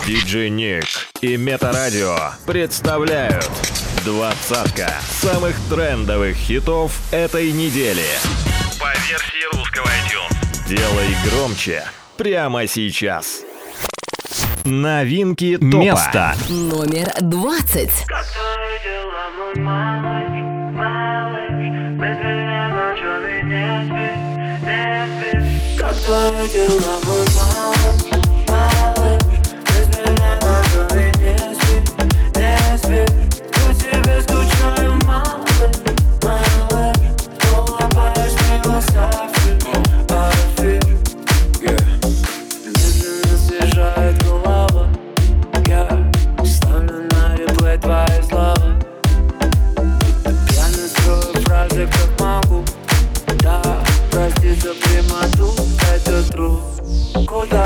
Диджей Ник и Метарадио представляют двадцатка самых трендовых хитов этой недели. По версии русского iTunes. Делай громче прямо сейчас. Новинки топа. Место номер 20. Как твои дела, мой малыш, малыш? Без меня на голове не спи, не спи. По тебе скучаю, малыш, малыш. Улыбаешь мне глаза, парфюм. Медленно съезжает голова. Я ставлю на реплей твои слова. Пьяно строю фразы, как могу. Да, прости за прямоту, это труд. Куда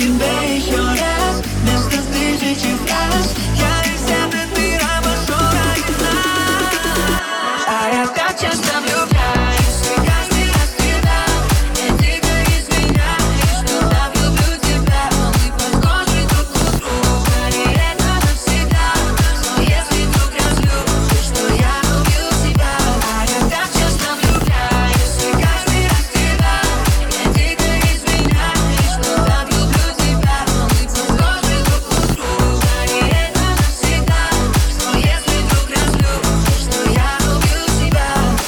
тебе еще раз. Вместо тысячи фраз я из этого мира обошел ради нас. А я так часто влюбляюсь, и каждый раз страдал. Я дико извиняюсь, что так люблю тебя. Мы похожи друг к другу, и это навсегда. Но если вдруг разлюбишь, то я убью тебя. А я так часто влюбляюсь, и каждый раз страдал. Я дико извиняюсь, что так люблю тебя. Мы похожи друг к другу, и это навсегда. Но если вдруг разлюбишь, то я убью тебя.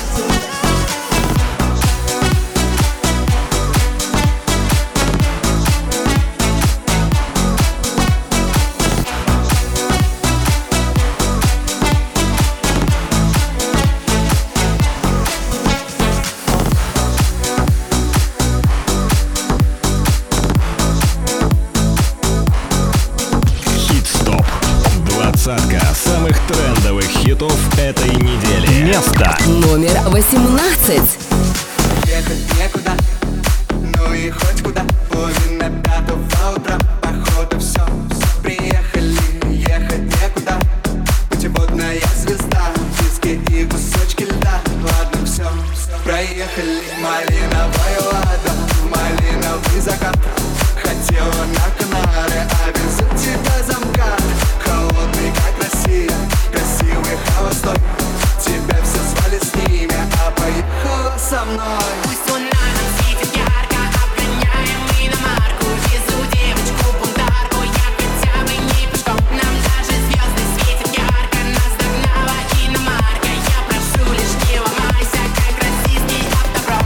Хит-стоп. Двадцатка самых трендовых хитов этой недели. Место Номер 18. Ехать некуда, ну и хоть куда. Половина пятого утра, походу все. Приехали, ехать некуда. Путеводная звезда, диски и кусочки льда. Ладно, все, проехали. Малиновая лада, малиновый закат. Хотела на Канары, а везу тебя замкат. Холодный, как Россия, красивый холостой. Тебя все звали с ними, а поехала со мной. Пусть луна нам светит ярко, обгоняем иномарку. Везу девочку-бунтарку, я хотя бы не пешком. Нам даже звезды светят ярко, нас догнала иномарка. Я прошу, лишь не ломайся, как российский автопром.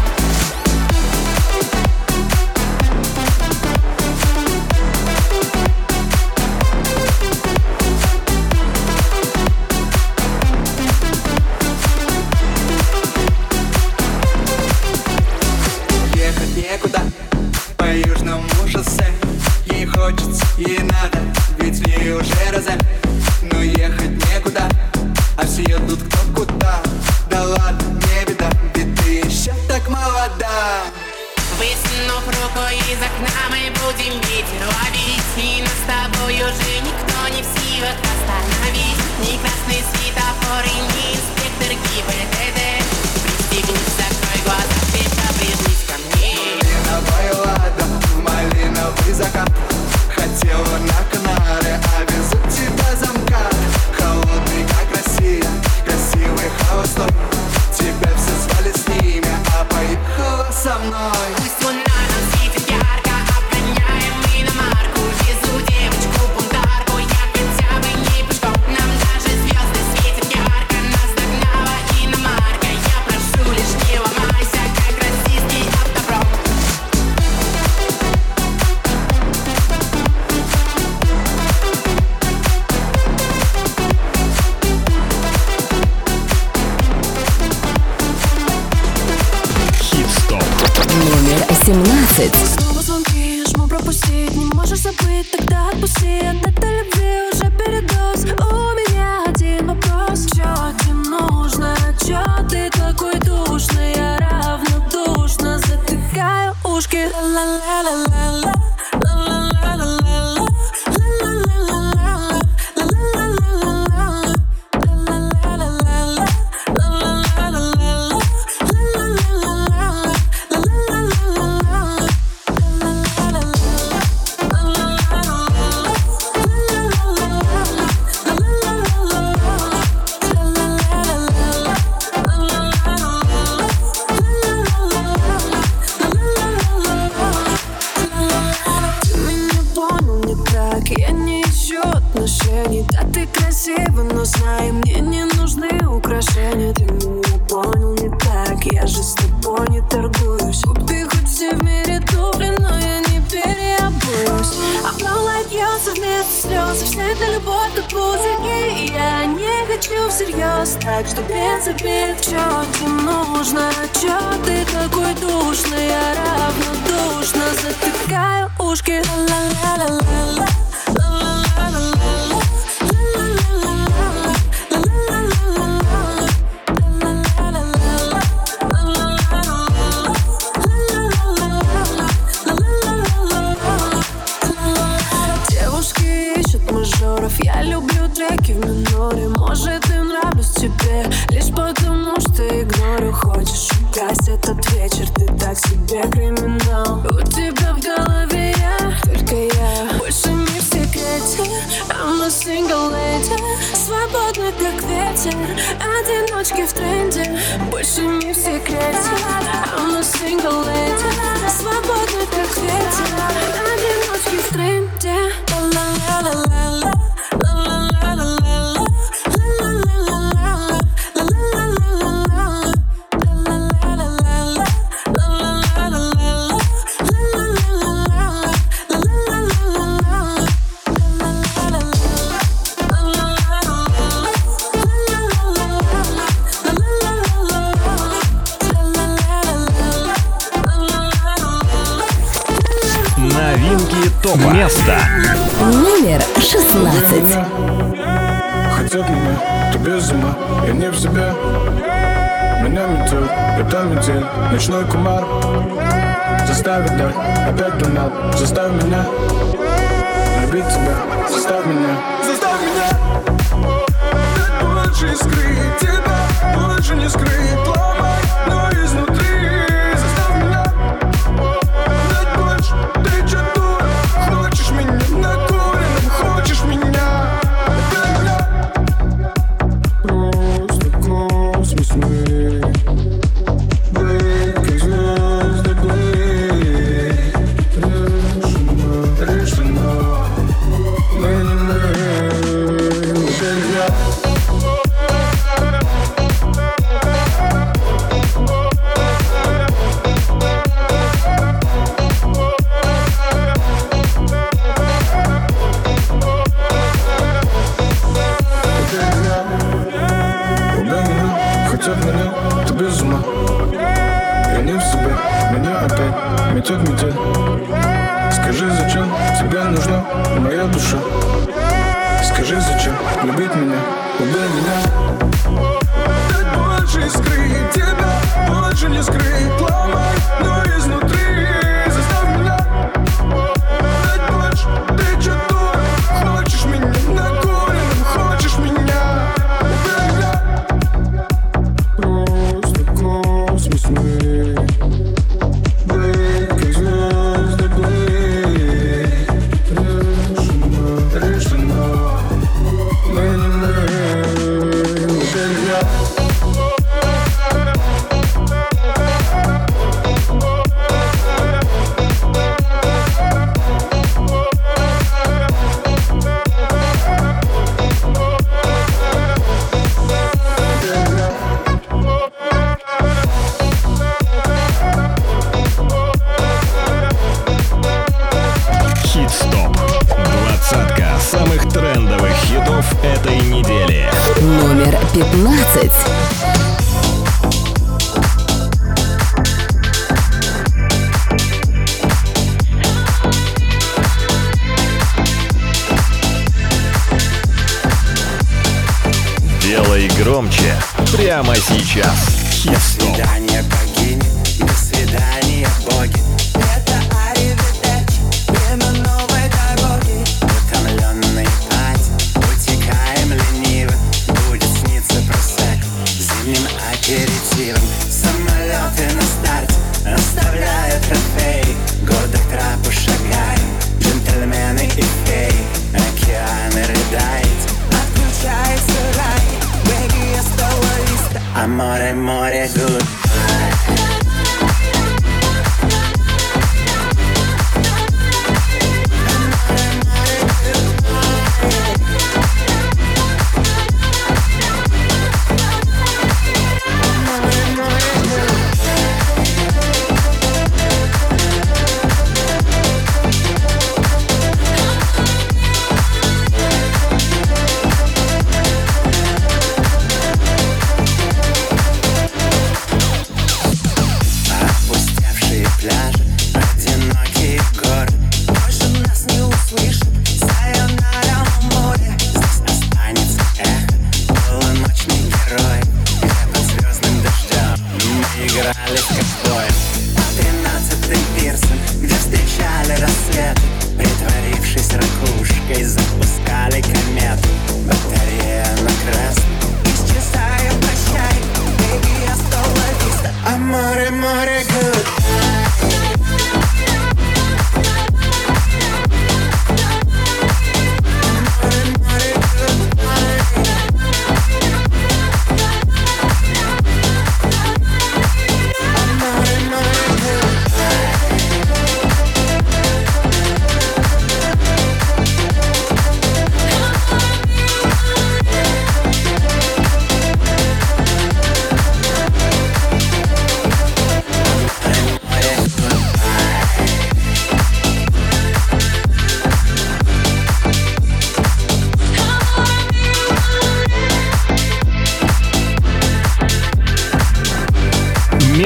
Ехать некуда по южному шоссе. Ей хочется, ей надо, ведь в ней уже розе. Но ехать некуда, а все едут кто куда. Да ладно, не беда, ведь ты еще так молода. Высунув руку из окна, мы будем ветер ловить. И нас с тобой уже никто не в силах остановить. Ни красный светофор и ни инспектор ГИБДД. Пристегнись, закрой глаза, крепко прижмись ко мне. Малиновая лада, малиновый закат. Хотела на Канары, а везу тебя замкат. Холодный, как Россия, красивый холостой. Тебя все звали с ними, а поехала со мной. Пусть луна нам светит ярко, обгоняем иномарку. Везу девочку-бунтарку, я хотя бы не пешком. Нам даже звезды светят ярко, нас догнала иномарка. Я прошу, лишь не ломайся, как российский автопром. хит-стоп. Номер 17. Снова звонки, жму пропустить. Не можешь забыть, тогда отпусти. От этой любви уже передоз. У меня один вопрос: чё тебе нужно? Чё ты такой душный? Я равнодушно затыкаю ушки. Ла-ла-ла-ла-ла, ла-ла-ла-ла-ла, ла-ла-ла-ла-ла, Ты меня понял не так, я не ищу отношений. Да, ты красива, но знай, мне не нужны украшения. Ты меня понял не так, я же с тобой не торгуюсь. Купи хоть все в мире туфли, но я не переобуюсь. Облом льется вместо слез, вся эта любовь как пузырьки. И я не хочу всерьез, так что без обид. Чё тебе нужно? Чё ты такой душный? Я равнодушно затыкаю ушки. Ла-ла-ла-ла-ла, ла-ла-ла-ла-ла, ла-ла-ла-ла-ла, ла-ла-ла-ла-ла. треки в миноре. Может, и нравлюсь тебе лишь потому, что игнорю. Хочешь украсть этот вечер, ты так себе криминал. У тебя в голове я, только я. Больше не в секрете, I'm a single lady. Свободна, как ветер, одиночки в тренде. Больше не в секрете, I'm a single lady. Свободна, как ветер, одиночки в тренде. Ла-ла-ла-ла-ла. Новинки ТОПа. Место Номер 16. Хотят меня, то без ума, я не в себе. Меня метет, это метель, ночной кумар. Заставит дать, опять туннел. Заставь меня любить тебя, заставь меня. Заставь меня дать больше искры. Тебя больше не скрыть. Ломай, но изнутри. Заставь меня дать больше. Ты чё, дура? Хочешь меня накуренным? Хочешь меня? Просто космос мы. Быть как звезды плыть. Решено. Мы не мы. Теперь я. Хотят меня, ты без ума. Я не в себе, меня опять метет метель. Скажи, зачем тебе нужна моя душа? Скажи, зачем любить меня, убей меня. Дать больше искры, тебя больше не скрыть. Ломай, но изнутри. Заставь меня дать больше. Ты чё, дура? Хочешь меня накуренным? Хочешь меня? Убей меня. Просто космос мы. Быть как звезды плыть. Решено. Мы не мы. Теперь я. Хит-стоп. Двадцатка самых трендовых хитов этой недели. Номер 15. Делай громче прямо сейчас. Хит-стоп. Свидание богини, до свидания, боги. Это аривидерчи, время новой дороги. Утомленный пать, утекаем лениво. Будет сниться просек зимним аперитивом. Самолеты на старте оставляют трофеи. Годы к трапу шагаем, джентльмены и феи. Океаны рыдает, отключается рай. Бэги, я стала листа, а море, море, goodbye.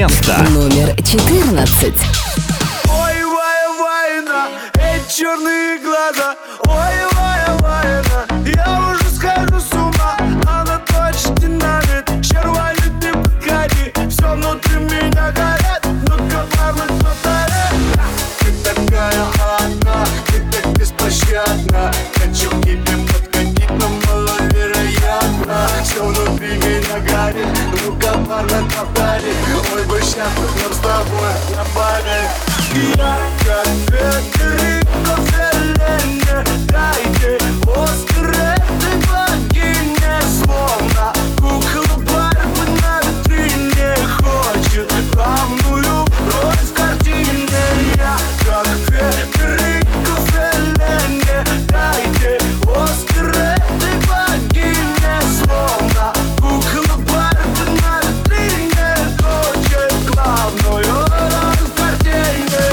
место. Номер 14. Ой, война, эти черные глаза. Ой, война, я уже схожу с ума. Она точно динамит, червонит, не подходи. Все внутри меня горит, ну-ка, парни, повтори. Ты такая одна, ты так беспощадна. Хочу к тебе подходить, но маловероятно. Все внутри меня горит, ну-ка, парни, повтори. Ой, бы сейчас нам с тобой на паре. Я как Федерико Феллини. Дайте Оскар этой богине. Словно кукла Барби на витрине. Хочет главную роль в картине. Я как Федерико Феллини. Дайте Оскар этой богине. Словно кукла Барби на витрине. Хочет главную роль в картине.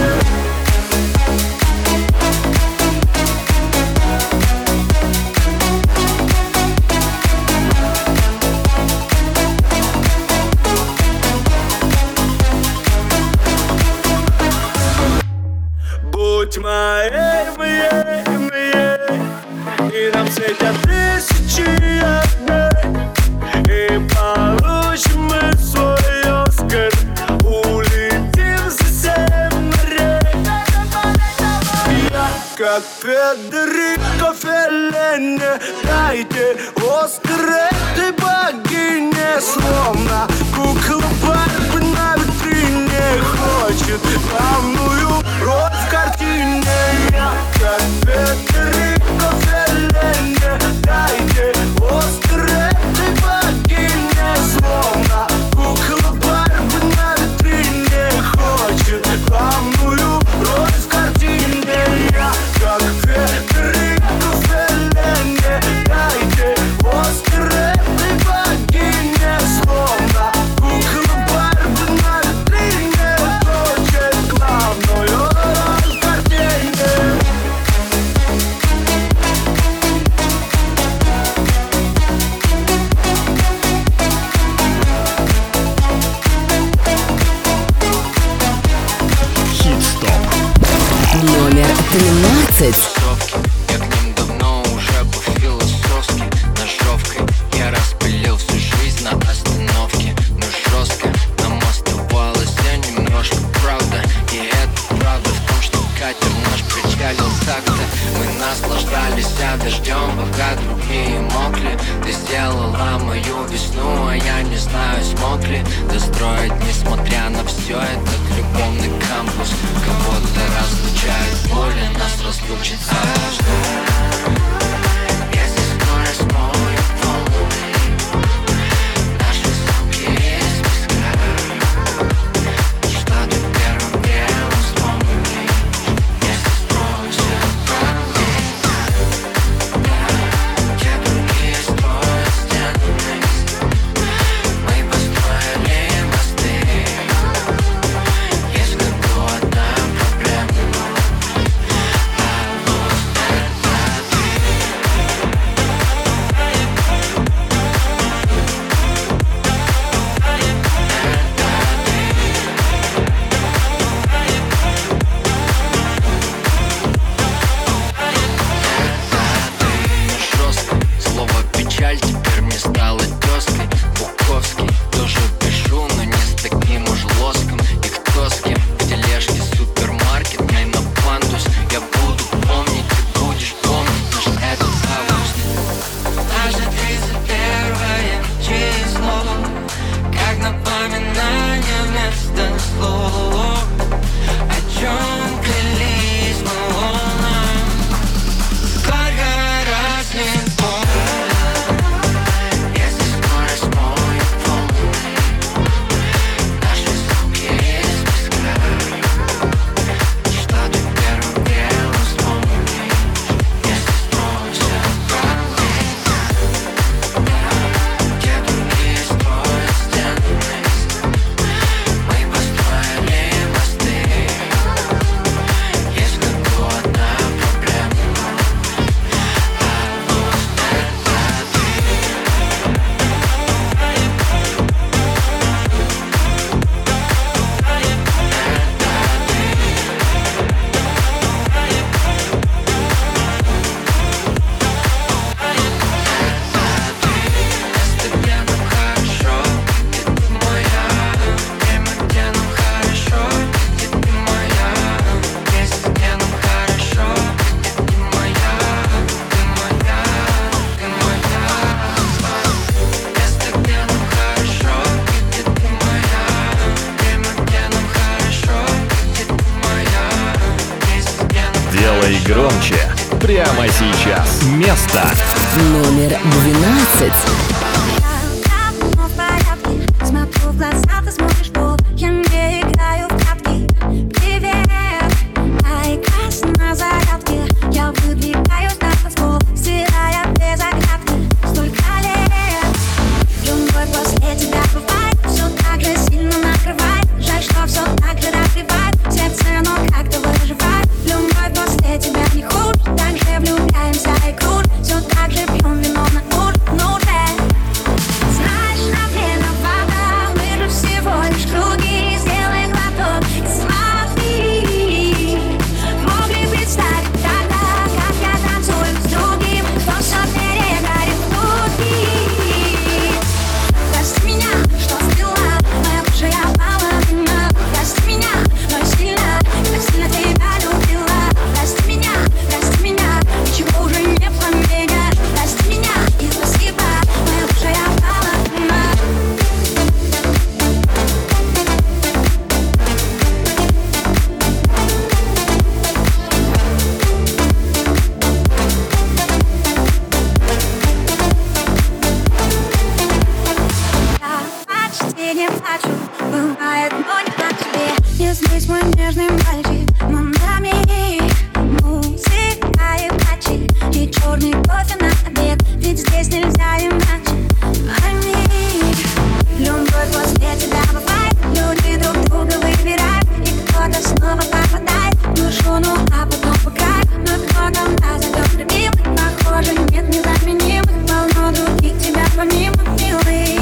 Будь моей, и нам светят тысячи огней, и получим мы свой Оскар, улетим за 7 морей. Я как Федерико Феллини. Дайте Оскар этой богине. Словно кукла Барби на витрине. Хочет главную роль в картине. Я как Федерико Феллини. Дайте Оскар этой богине. Словно кукла Барби на витрине. Хочет главную роль в картине. Я как Федерико Феллини. Дайте Оскар этой богине. Словно кукла Барби на витрине. Хочет главную роль в картине. Хит-стоп. Номер 13. Я к ним давно уже по философски ножовкой я распылил всю жизнь на остановке. Но жестко нам оставалось немножко правда. И это правда в том, что катер наш причалил так-то. Мы наслаждались дождем, пока другие мокли. Ты сделала мою весну, а я не знаю, смог ли достроить, несмотря на все этот любовный кампус. Кого-то разлучает боли, нас разлучит однажды. Если скоро смою волны, наши звуки из песка. Что ты первым делом вспомнишь, если строюсь от те другие строят стены. Мы построили мосты. Есть как бы одна проблема. Делай громче прямо сейчас. Место Номер 12. Давно в порядке, смотрю в глаза, ты смотришь в пол. Я не играю в прятки. Привет, айкас на зарядке. Я выдвигаюсь на танцпол, стирая без оглядки. Столько лет, любовь после тебя бывает, все так же сильно накрывает. Жаль, что все так же разбивает сердце, но как-то выживает. Любовь после тебя не хуже, так же влюбляемся и крут. Все так же пьем вино на утре. Знаешь, на время вода, мы же всего лишь круги. Сделай глоток и смотри. Могли представить тогда, как я танцую с другим, кто все перегорит внутри. Прости меня, что сбила, моя бывшая половина. Прости меня, но я сильно тебя любила. Прости меня, ничего уже не поменять. Прости меня и спасибо, моя бывшая половина. Я почти не плачу, бывает, но не так тебе. Не злись, мой нежный мальчик, но на миг музыка и плачи, и черный кофе на обед, ведь здесь нельзя иначе. Пойми, любовь после тебя бывает, люди друг друга выбирают, и кто-то снова попадает в душу, ну а потом по краю. Но кто-то нас зовет любимых, похоже, нет незаменимых, полно других тебя помимо, милый.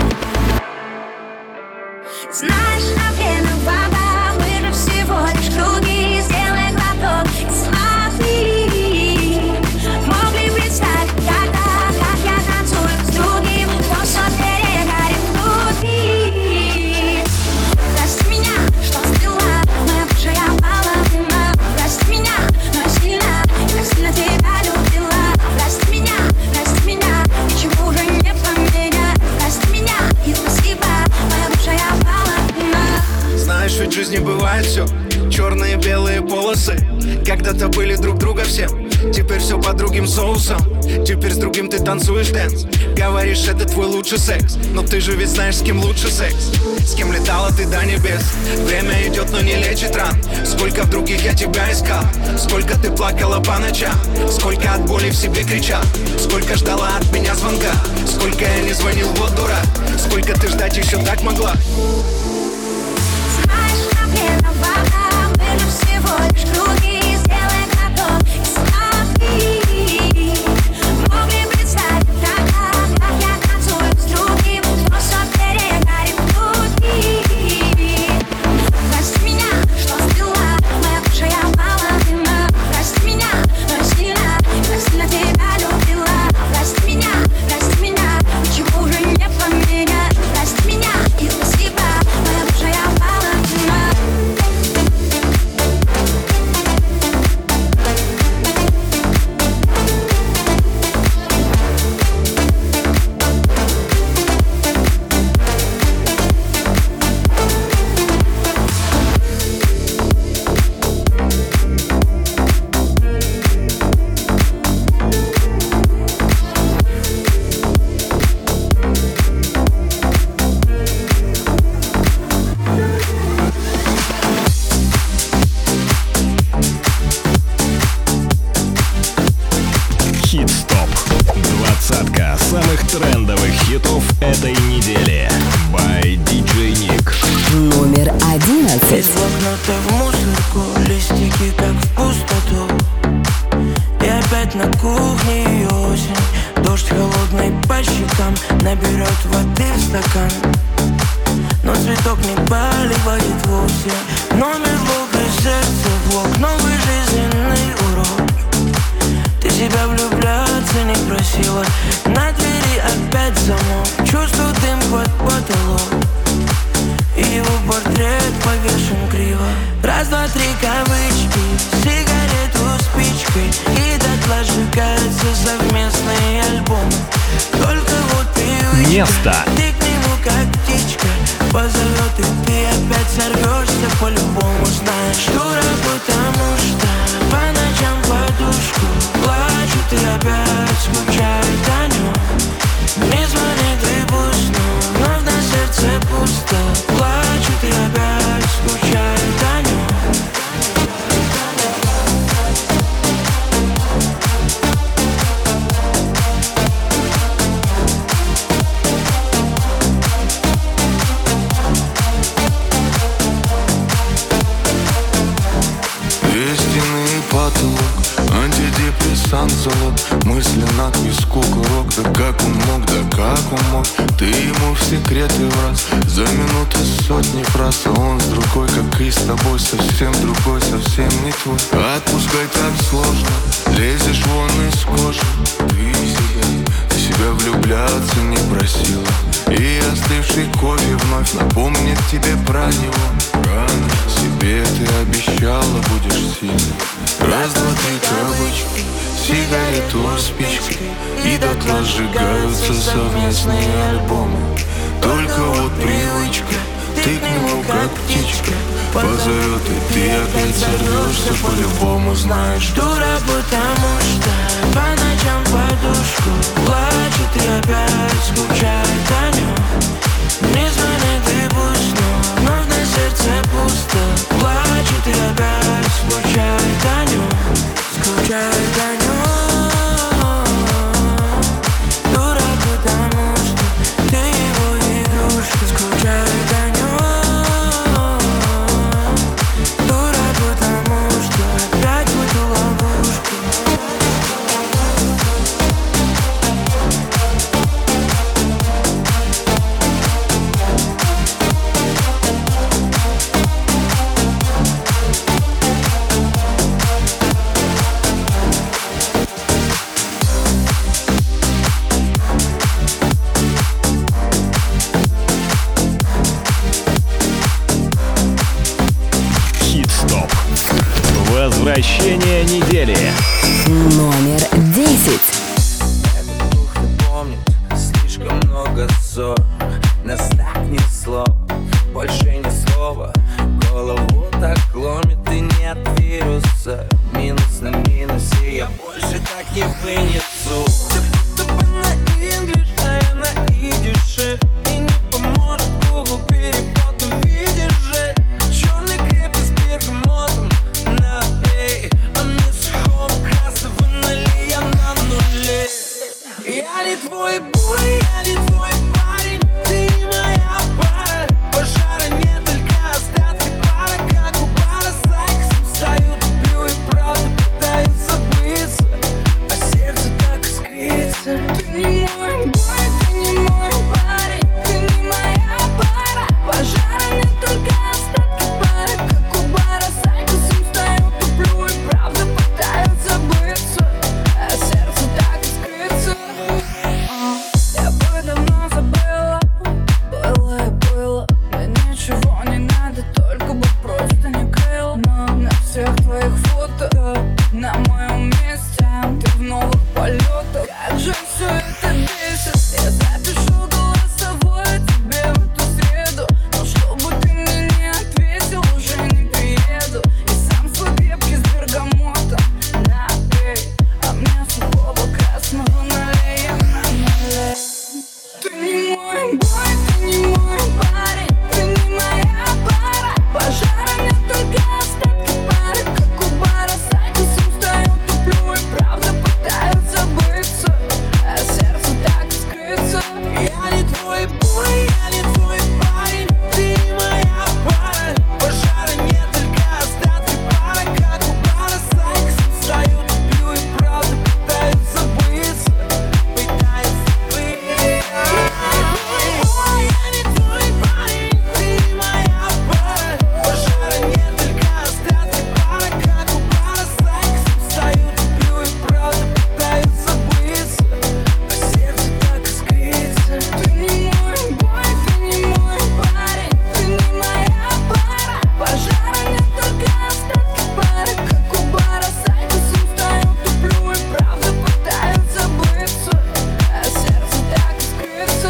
Знаешь, на время вода, мы же всего лишь круги. Сделай глоток и смотри. Могли представить тогда, как я танцую с другим, кто все перегорит внутри. Прости меня, что сбила, моя бывшая половина. Прости меня, но я сильно тебя любила. Прости меня, ничего уже не поменять. Прости меня и спасибо, моя бывшая половина. Знаешь, ведь в жизни бывает все, черные и белые полосы. Когда-то были друг друга все, теперь все под другим соусом. Теперь с другим ты танцуешь дэнс. Говоришь, это твой лучший секс, но ты же ведь знаешь, с кем лучше секс. С кем летала ты до небес. Время идет, но не лечит ран. Сколько в других я тебя искал, сколько ты плакала по ночам, сколько от боли в себе кричал, сколько ждала от меня звонка, сколько я не звонил, вот дурак, сколько ты ждать еще так могла. Знаешь, на время вода, мы же всего лишь круги. Сделай глоток и смотри. Могли представить тогда, как я танцую с другим, кто все перегорит внутри. Прости меня, что сбила, моя бывшая половина. Прости меня, но я сильно тебя любила. Прости меня, ничего уже не поменять. Прости меня и спасибо, моя бывшая половина. Хит-стоп. Двадцатка самых трендовых хитов этой недели. By DJ Nick. Номер 11. Из блокнота в мусорку, листики как в пустоту. И опять на кухне и осень. Дождь холодный по щекам, наберет воды в стакан. Но цветок не поливает вовсе. Номер блока, сердце блок, новый жизненный урок. Ты себя влюбляться не просила. На двери опять замок, чувствую дым под потолок. И его портрет повешен криво. Раз, два, три кавычки, сигарету спичкой. И дотла сжигаются совместные альбомы. Только вот привычка, Место. ты к нему как птичка. Позовет, и ты опять сорвешься по-любому. Знаешь, дура, потому что по ночам антидепрессант залог, мысли на виску курок. Да как он мог, ты ему в секреты враз. За минуты сотни фраз, а он с другой, как и с тобой, совсем другой, совсем не твой. Отпускай так сложно, лезешь вон из кожи. Ты себя влюбляться не просила, и остывший кофе вновь напомнит тебе про него. Себе ты обещала, будешь сильной. Раз, два, три кавычки, сигарету спичкой, и дотла сжигаются совместные альбомы. Только вот привычка, ты к нему как птичка позовет, и ты опять сорвешься по-любому, знаешь. Дура, потому что по ночам подушку плачет и опять скучает о нем. Не звонит и пусть, но вновь на сердце пусто. Плачет и опять скучает о нем, скучает о нем. Дура, потому что ты его игрушка, скучает о нем. Дура, потому что опять в эту ловушку. Хит-стоп. Возвращение недели. Номер 10. Помнит, слишком много ссор, нас так несло, больше ни слова. Голову так ломит и нет вируса. Минус на минусе, я больше так не вынесу. Тупо на инглиш, а я на идише. И не поможет Google перевод, увидишь же. Черный крепкий с бергамотом на эй, а мне сухого красного налей, я на нуле. Я не твой бой, я не твой парень, ты не моя пара. Пожара нет, только остатки пара, как у бара. Сайксом стою, туплю и правда пытаюсь забыться, а сердце так искрится. Ты не мой бой, ты не мой парень, ты не моя пара. Пожара нет, только остатки пара, как у бара. Сайксом стою, туплю и правда пытаюсь забыться, а сердце так искрится. Я бы давно забыла, было и было. Мне ничего не надо, только бы просто не крыл. Но на всех твоих фото, на моем месте, ты в новых полетах. Как же все это бесит. Я запишу голосовое тебе в эту среду, но чтобы ты мне не ответил, уже не приеду. И сам свой крепкий с бергамотом на эй, а мне сухого красного налей, я на нуле. Ты не мой бой, ты не мой парень, ты не моя пара. Пожара нет, только остатки пары, как у бара. Сайксом стою, туплю и правда пытаюсь забыться, а сердце так искрится. Я не твой бой, я не твой парень, ты не моя пара. Пожара нет, только остатки пары, как у бара. Сайксом стою, туплю и правда пытаюсь забыться, пытаюсь забыться. Я не твой парень, ты не моя пара. Пожара нет, только остатки пара, как у бара. Сайксом стою, туплю и правда пытаюсь забыться, а сердце так искрится. Ты не мой бой, ты не мой парень, ты не моя пара. Пожара нет, только остатки пара, как у бара. Сайксом стою, туплю и правда пытаюсь забыться, а сердце так искрится.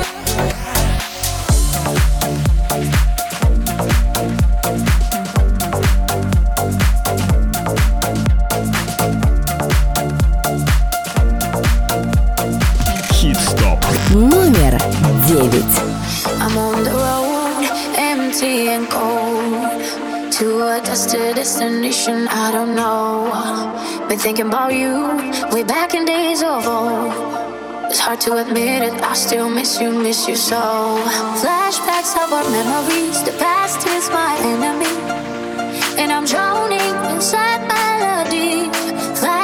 Хит-стоп. Номер 9. I'm on the road, empty and cold, to a destination I don't know. Been thinking about you way back in days of old. It's hard to admit it, I still miss you so. Flashbacks of our memories, the past is my enemy, and I'm drowning in sad melody.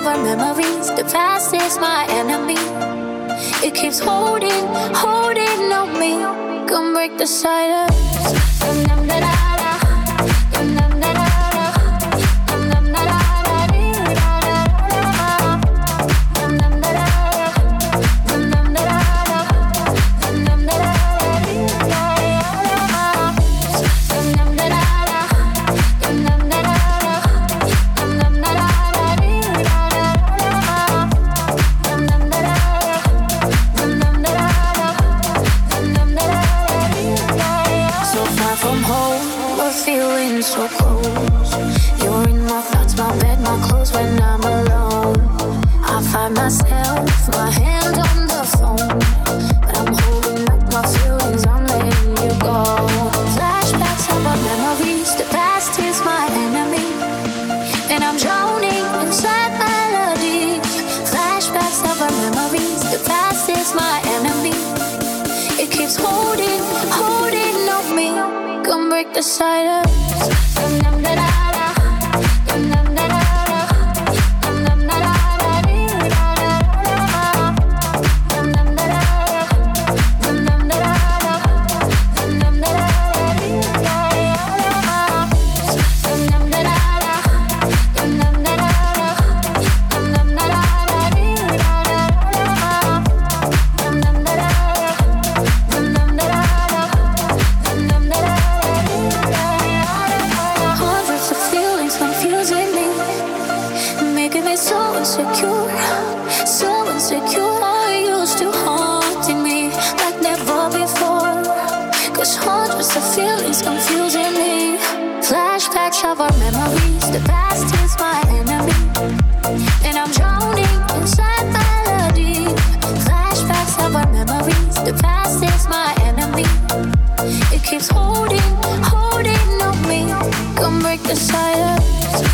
of our memories. The past is my enemy. It keeps holding on me. Come break the silence. So close, you're in my thoughts, my bed, my clothes when I'm alone. I find myself, my hand on the phone, but I'm holding up my feelings, I'm letting you go. Flashbacks of our memories, the past is my enemy, and I'm drowning inside melodies. Flashbacks of our memories, the past is my enemy. It keeps holding on me. Come break the silence. Of our memories, the past is my enemy, and I'm drowning inside melody. Flashbacks of our memories, the past is my enemy. It keeps holding on me. Come break the silence.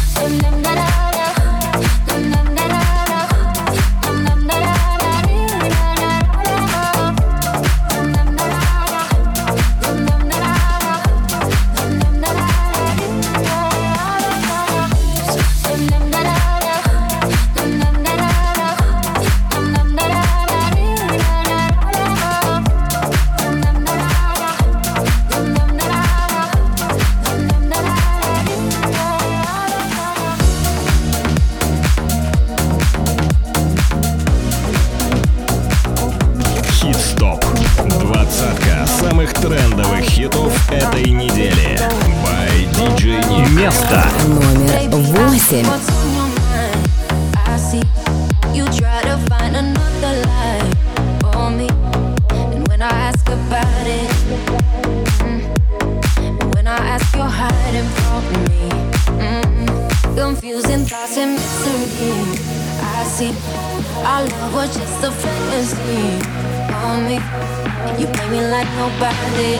Трендовых хитов этой недели. By DJ Nick. Место номер 8. Confusing thoughts and mystery. I see our love was just a fantasy on me. You play me like nobody.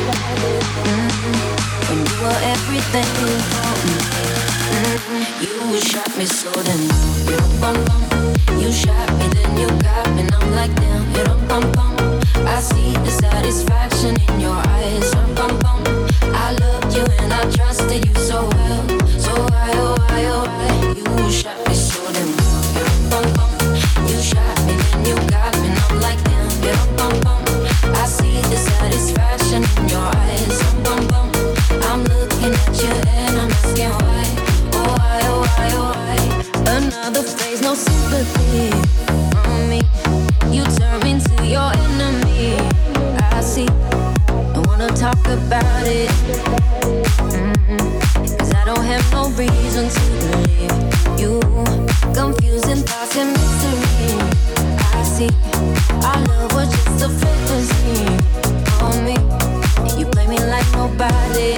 When you were everything for me. You shot me so then you bum bum. You shot me then you got me and I'm like damn you bum bum. I see the satisfaction in your eyes. Bum bum. I loved you and I trusted you so well. So why oh why oh why you shot me so then you bum bum. You shot me then you got me and I'm like damn you bum bum. I see the satisfaction in your eyes. Bum, bum. I'm looking at you and I'm asking why. Oh, why, oh, why, oh, why. Another phrase, no sympathy on me. You turn into your enemy. I see. I wanna talk about it. Cause I don't have no reason to believe you. Confusing thoughts and mystery. I see. Our love was just a fantasy on me. You play me like nobody.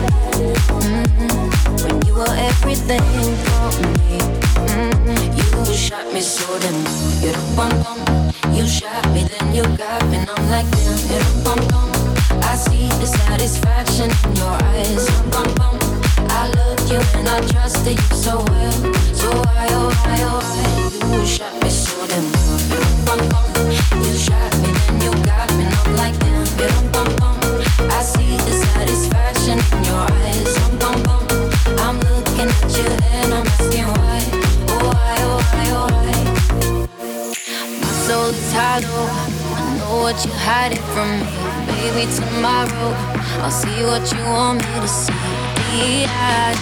When you were everything for me. You shot me so then you bum bum. You shot me then you got me and I'm like damn you bum bum. I see the satisfaction in your eyes. Bum bum. I loved you and I trusted you so well. So why oh why oh why you shot me so then you bum bum. You shot me then you got me and I'm like damn you bum bum. I see the satisfaction in your eyes. Bum bum. I'm looking at you and I'm asking why. Oh why oh why shadow. I know what you're hiding from me. Maybe tomorrow I'll see what you want me to see. Be-eyed,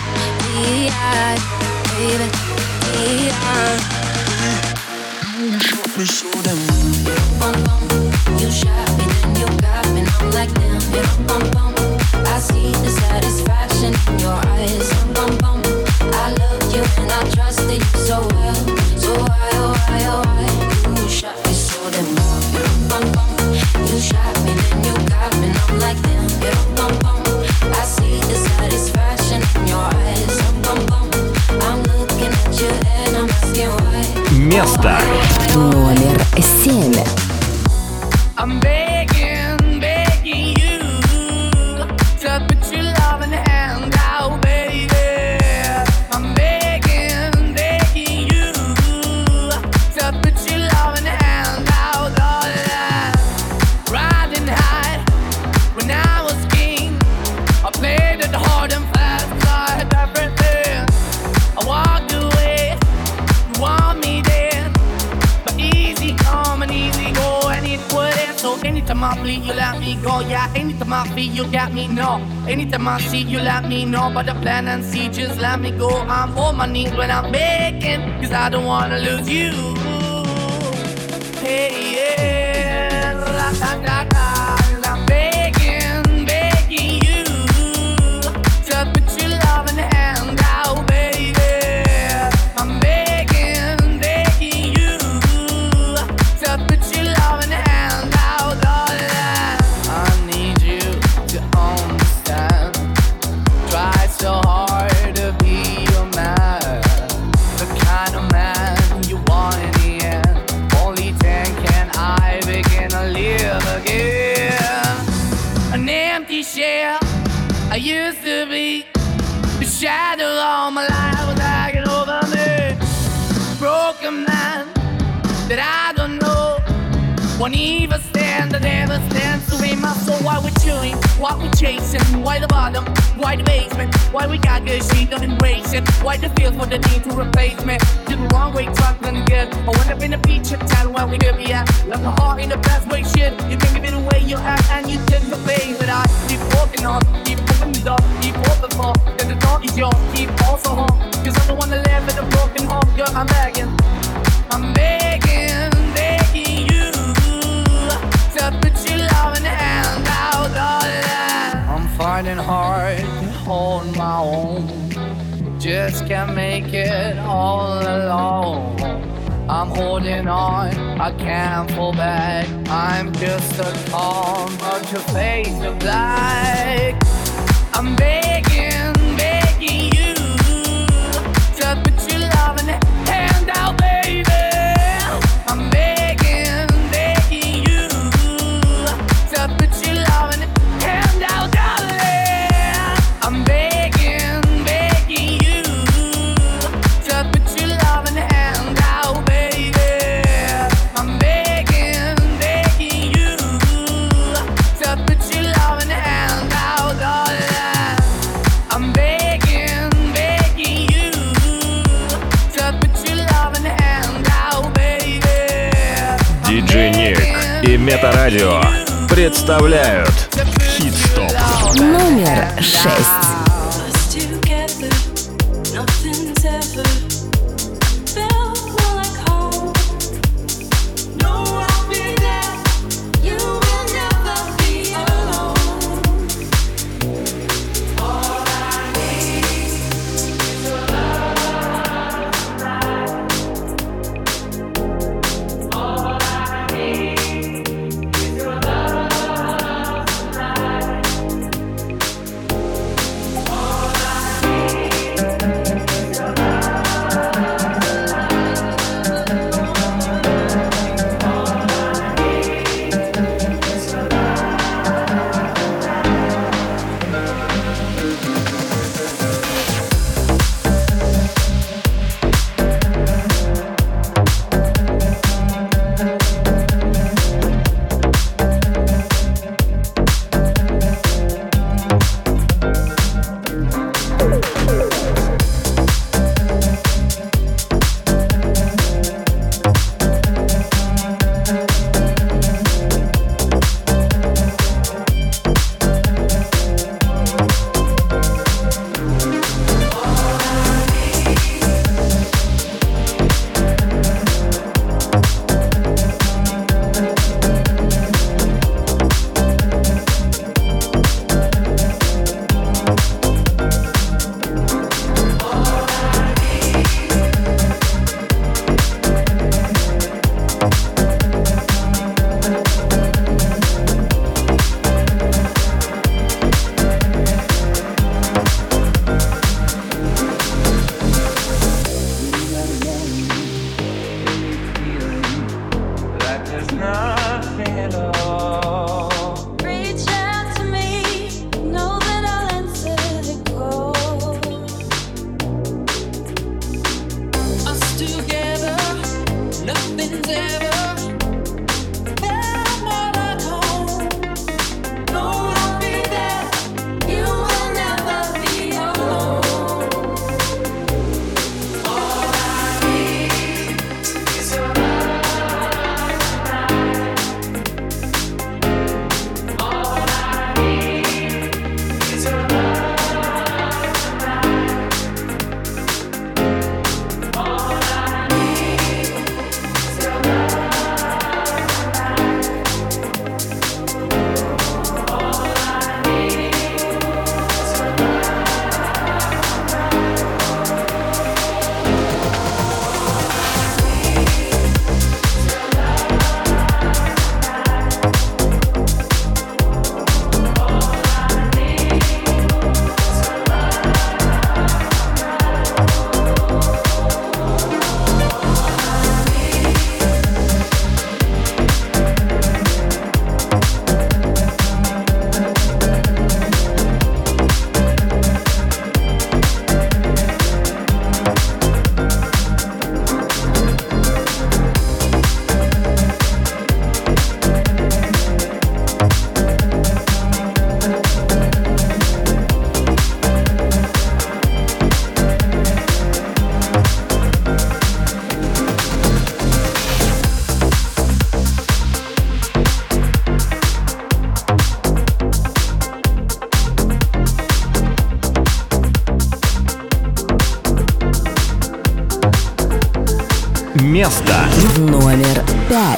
baby, be-eyed. You shot me so damn. Bum bum, you shot me, then you got me. I'm like damn, bum bum. I see the satisfaction in your eyes. Bum bum, I love you and I trusted you so well. So why, oh why, oh why? You shot me so damn. Bum bum, you shot me, then you got me. I'm like damn, bum bum. I see the satisfaction in your eyes. Bum bum, I'm looking at you and I'm asking why. Место номер 7. I'm begging, begging you to put your loving hand out, baby. I'm begging, begging you to put your loving hand out, darling. Riding high when I was king, I played it hard and fast, I had everything. I walked away, you want me there, but easy come and easy go, and it wouldn't. So anytime I bleed, you let me go. Yeah, anytime I feel, you got me, no. Anytime I see, you let me know. But the plan and see, just let me go. I'm on my knees when I'm begging, cause I don't wanna lose you. Hey, yeah, la-da-da-da. I'm begging, begging you to put your loving hand out, baby. I'm begging, begging you to put your loving hand out, darling. I need you to understand. Try so hard to be your man, the kind of man you want in the end. Only then can I begin to live again. An empty shell I used to be, the shadow all my life was hanging over me. Broken man that I don't know, won't even stand, that never stands to be my soul. Why we're chewing, why we're chasing, why the bottom, why the basement, why we got good, she don't embrace it, why the feel for the need to replace me. Did the wrong way, trying good. I went up in the feature town where we could be at, left my heart in the best way, shit. You think of it the way you act and you did the face, but I keep walking on, keep opening the door, keep open for, then the door is yours, keep also home, cause I'm the one that live in a broken home, girl, I'm begging, begging you to put your loving hand out, darling. I'm finding hard to hold my own, just can't make it all alone. I'm holding on, I can't fall back. I'm just a calm, but your face of black. I'm begging, begging you to put your loving hand out, baby. I'm begging, begging you to put your loving hand out, darling. I'm begging, begging you to put your loving hand out, baby. I'm begging, begging you to put your loving hand out, darling. I'm begging, begging you to put your loving hand out, baby. Диджей Ник и Метарадио представляют Хит-стоп Номер 6. Место номер 5.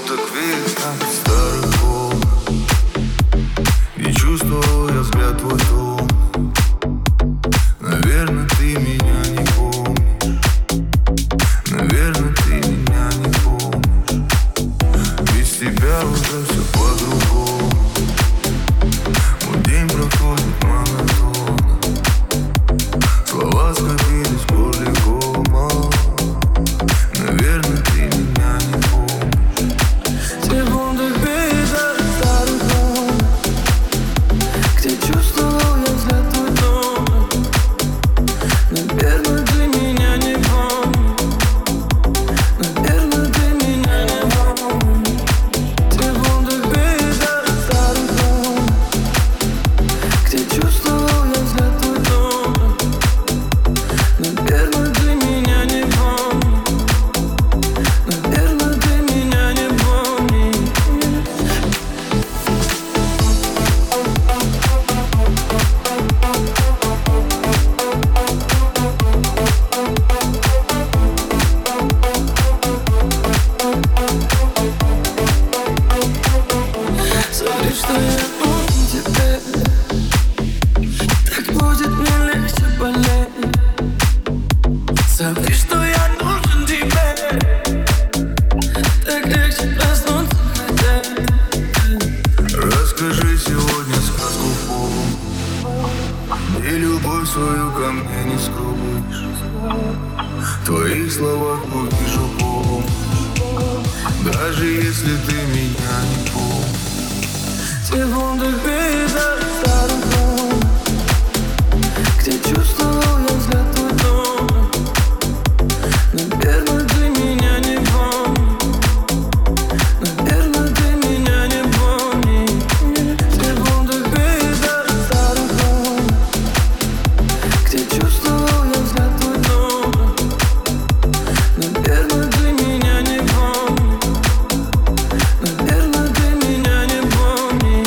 Не чувствовал я взгляд твой дом. Наверное, ты меня не помнишь. Наверное, ты меня не помнишь. Без тебя уже все по-другому. Мой день проходит монотонно. Слова скопились полигома. Наверное, ты меня не помнишь. Секунды беда старых дом, где чувствовал я взгляд твой дом. Наверное, ты меня не помнишь. Наверное, ты меня не помнишь. Секунды беда старых дом, где чувствовал я взгляд твой дом. Наверное, ты меня не помнишь. Наверное, ты меня не помнишь. Смотри, что я нужен тебе. Так будет мне легче болеть. Смотри, что я нужен тебе. Так легче проснуться хотеть. Расскажи сегодня сказку в пол. И любовь свою ко мне не скроешь. В твоих словах увижу помощь. Даже если ты меня не помнишь. Секунды беда старых дом, где чувствовал я взгляд твой дом. Наверное, ты меня не помнишь. Наверное, ты меня не помнишь. Секунды беда старых дом, где чувствовал я взгляд твой дом. Наверное, ты меня не помнишь. Наверное, ты меня не помнишь.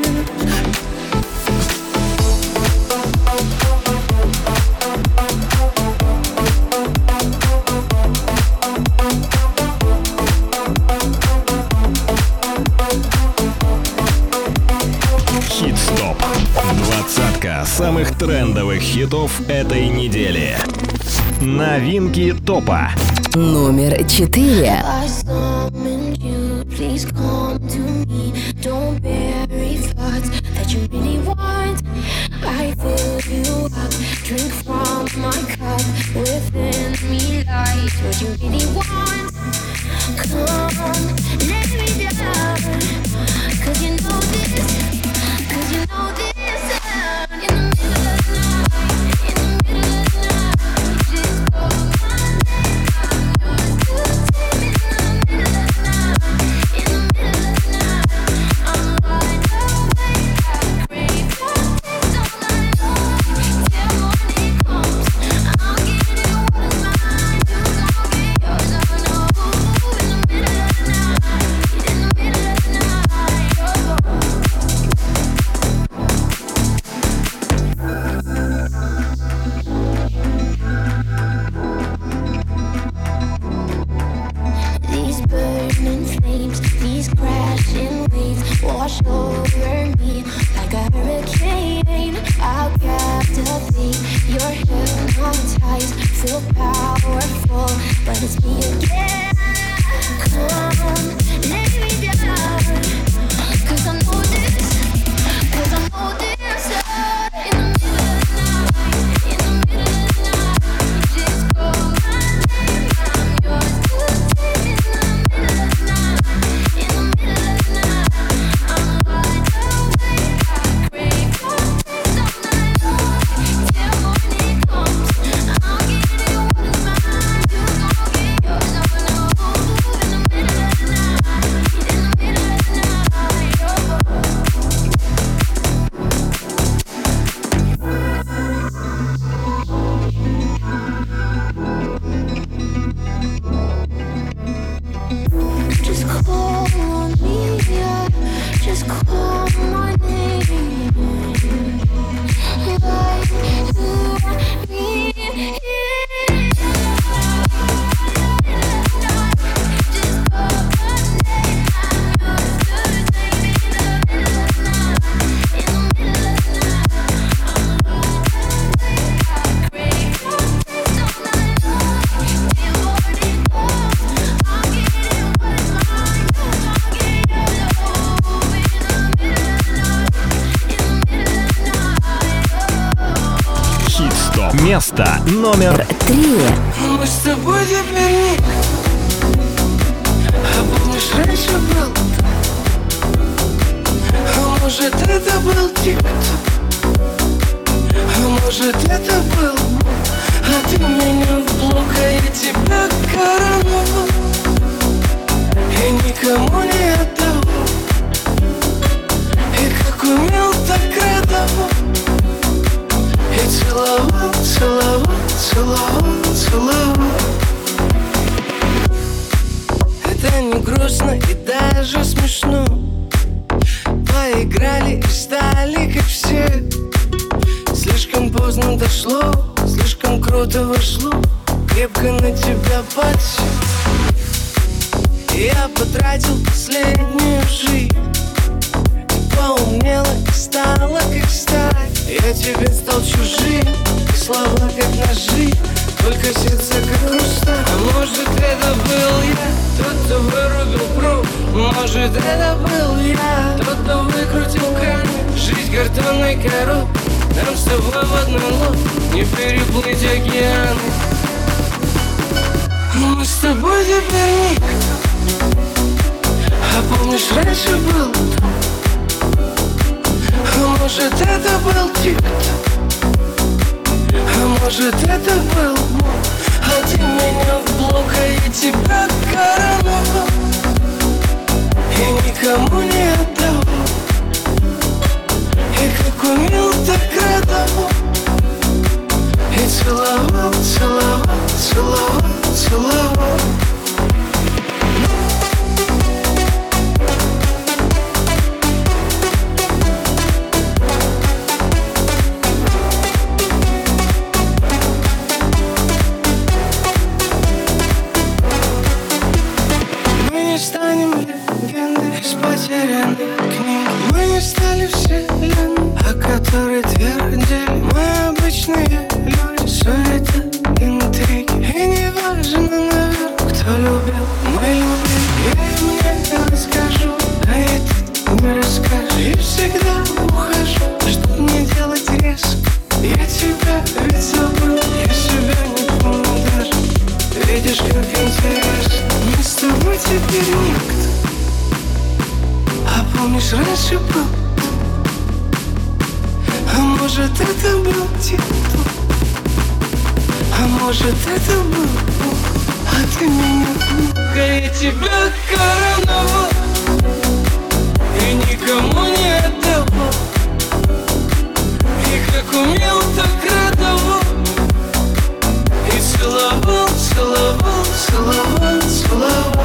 Хит-стоп. Двадцатка самых трендовых хитов этой недели. Новинки топа. Номер 4. I summoned you, please come to me. Don't bury thoughts that you really want. I fill you up, drink from my cup. Within me lies what you really want. Come, let me down. Cause you know this. Cause you know this. In the middle of the night, in the middle of the night, just call my name. wash over me like a hurricane. I'll captivate, you're hypnotized, feel powerful, but it's me again. Come, lay me down, 'cause I know this, 'cause I know this. In the middle of the night, in the middle of the night, just call my name, I'm yours to take. In the middle of the night, in the middle of the night, I'm wide awake. I crave your taste all night long, till morning comes. I'll give you what is mine, you gon' get yours. I'm gonna hold you in the middle of the night, in the middle of the night, oh. Just call on me, yeah. Just call my name. Like to me, yeah. Just call my name. I'm yours to take. In the middle of the night, in the middle of the night, I'm awake. I crave your taste all night long, till morning comes. I'll give you what is mine, you gon' get yours. Oh, in the middle of the night, in the middle of the night, oh. Хит-стоп. Место номер 3. Мы с тобой теперь никто. А помнишь, раньше был? А может, это был тик-ток? А может, это был? А ты меня в блок, а я тебя короновал и никому не отдавал. И как умел, так радовал. И целовал, целовал, целовал, целовал. Это не грустно и даже смешно. Поиграли и стали как все. Слишком поздно дошло, слишком круто вошло. Крепко на тебя подсел. Я потратил последнюю жизнь. Ты поумнела и стала как сталь. Я тебе стал чужим, и слова как ножи, только сердце как хрусталь. А может, это был я, тот, кто вырубил пруд. Может, это был я, тот, кто выкрутил кран. Жизнь картонной коробкой, нам с тобой в одной лодке не переплыть океаны. Мы с тобой теперь никто. А помнишь, раньше был? А может, это был тик-ток? А может, это был? А ты меня в блок, а я тебя короновал и никому не отдавал. И как умел, так радовал. И целовал, целовал, целовал, целовал. Потерянной книги. Мы не стали вселенной, о которой твердили. Мы обычные люди, суета, интриги. И не важно, наверное, кто любил, мы любим. Я им не расскажу, а и ты не расскажешь. И всегда ухожу, чтоб не делать резко. Я тебя ведь забыл, я себя не помню даже. Видишь, как интересно, мы с тобой теперь никто. А помнишь, раньше был? А может, это был тик-ток? А может, это был? А ты меня в я тебя короновал и никому не отдавал. И как умел, так радовал. И целовал, целовал, целовал, целовал.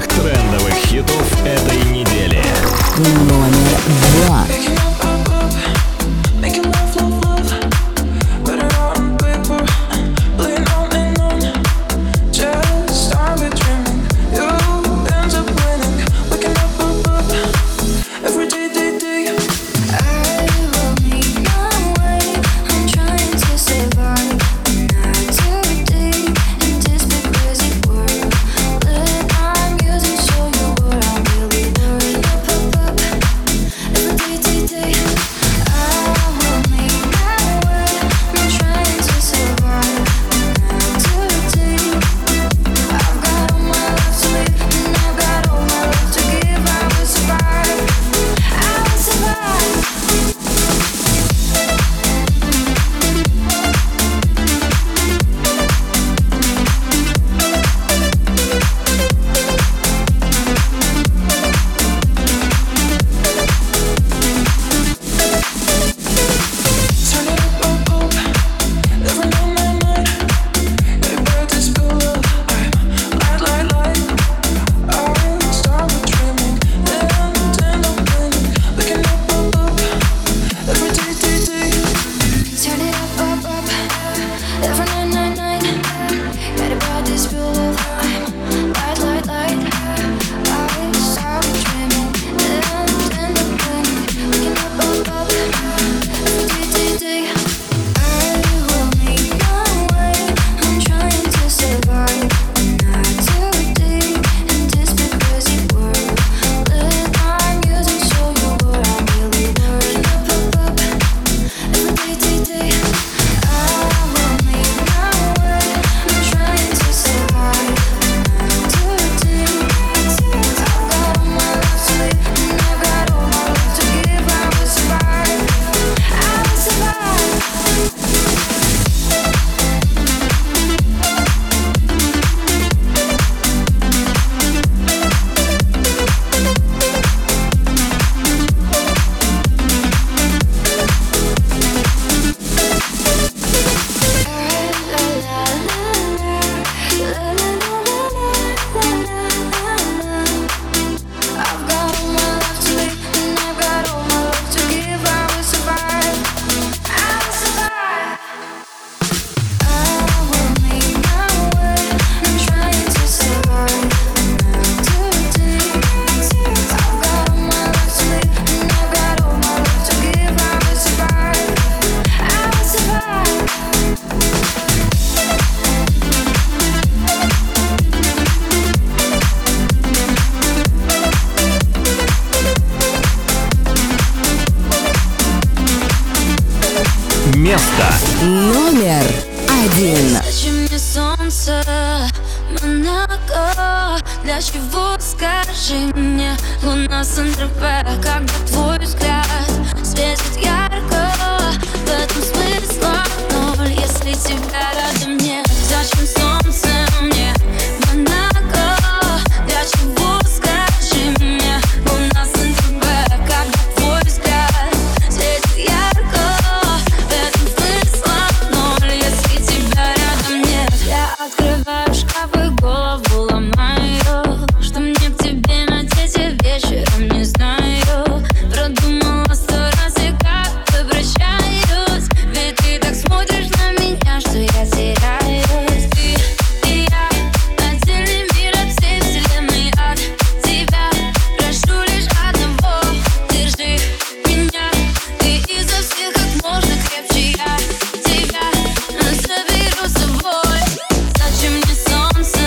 трендовых хитов этой недели. Номер 2. место. Номер 1. Зачем мне солнце, Монако? Для чего, скажи мне, луна Сан-Тропе? Когда твой взгляд светит ярко, в этом смысла ноль, если тебя рядом нет. Зачем солнце мне, Монако? Для чего, скажи мне, луна Сан-Тропе? Когда твой взгляд светит ярко, в этом смысла ноль, если тебя рядом нет. Я открываю шкафы, голову ломаю, что мне к тебе надеть вечером, не знаю. Продумала 100 раз и как обращаюсь, ведь ты так смотришь на меня, что я теряюсь. Ты и я, отдельный мир от всей вселенной, от тебя прошу лишь одного: держи меня, ты изо всех как можно крепче, я тебя заберу с собой. Зачем мне солнце,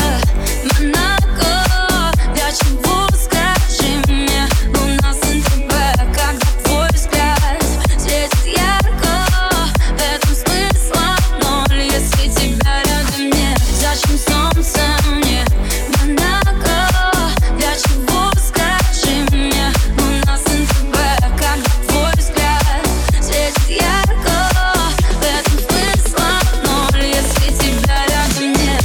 Монако? Для чего, скажи мне, луна Сан-Тропе? Когда твой взгляд светит ярко, в этом смысла ноль, если тебя рядом нет. Зачем солнце мне, Монако? Для чего, скажи мне, луна Сан-Тропе? Когда твой взгляд светит ярко, в этом смысла ноль, если тебя рядом нет.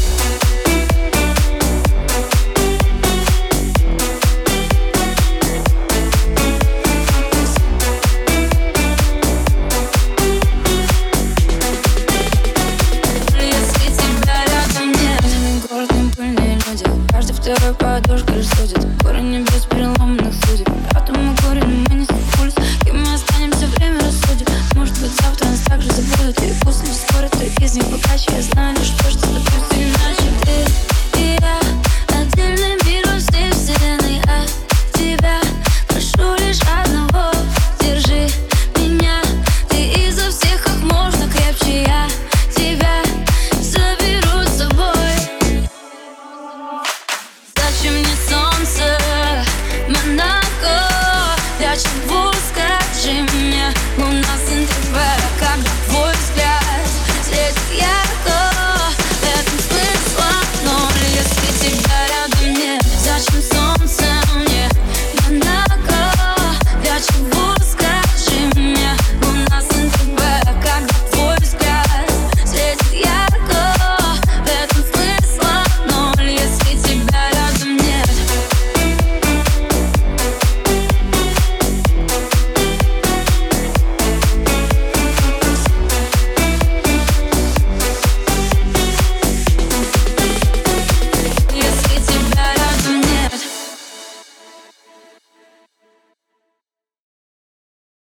Если тебя рядом нет. Гордые пыльные люди, каждый второй подушка рассудит. Горы небес переломанных судеб, атомы горе, но мы не пульс. Кем мы останемся, время рассудит. Может быть, завтра нас также забудут, или пусть лишь скоро кто из них богаче. Я знаю лишь то, что добьюсь иначе. Ты и я, отдельный мир от всей вселенной, от тебя прошу лишь одного: держи меня, ты изо всех как можно крепче, я тебя заберу с собой. Зачем мне солнце, Монако? Для чего,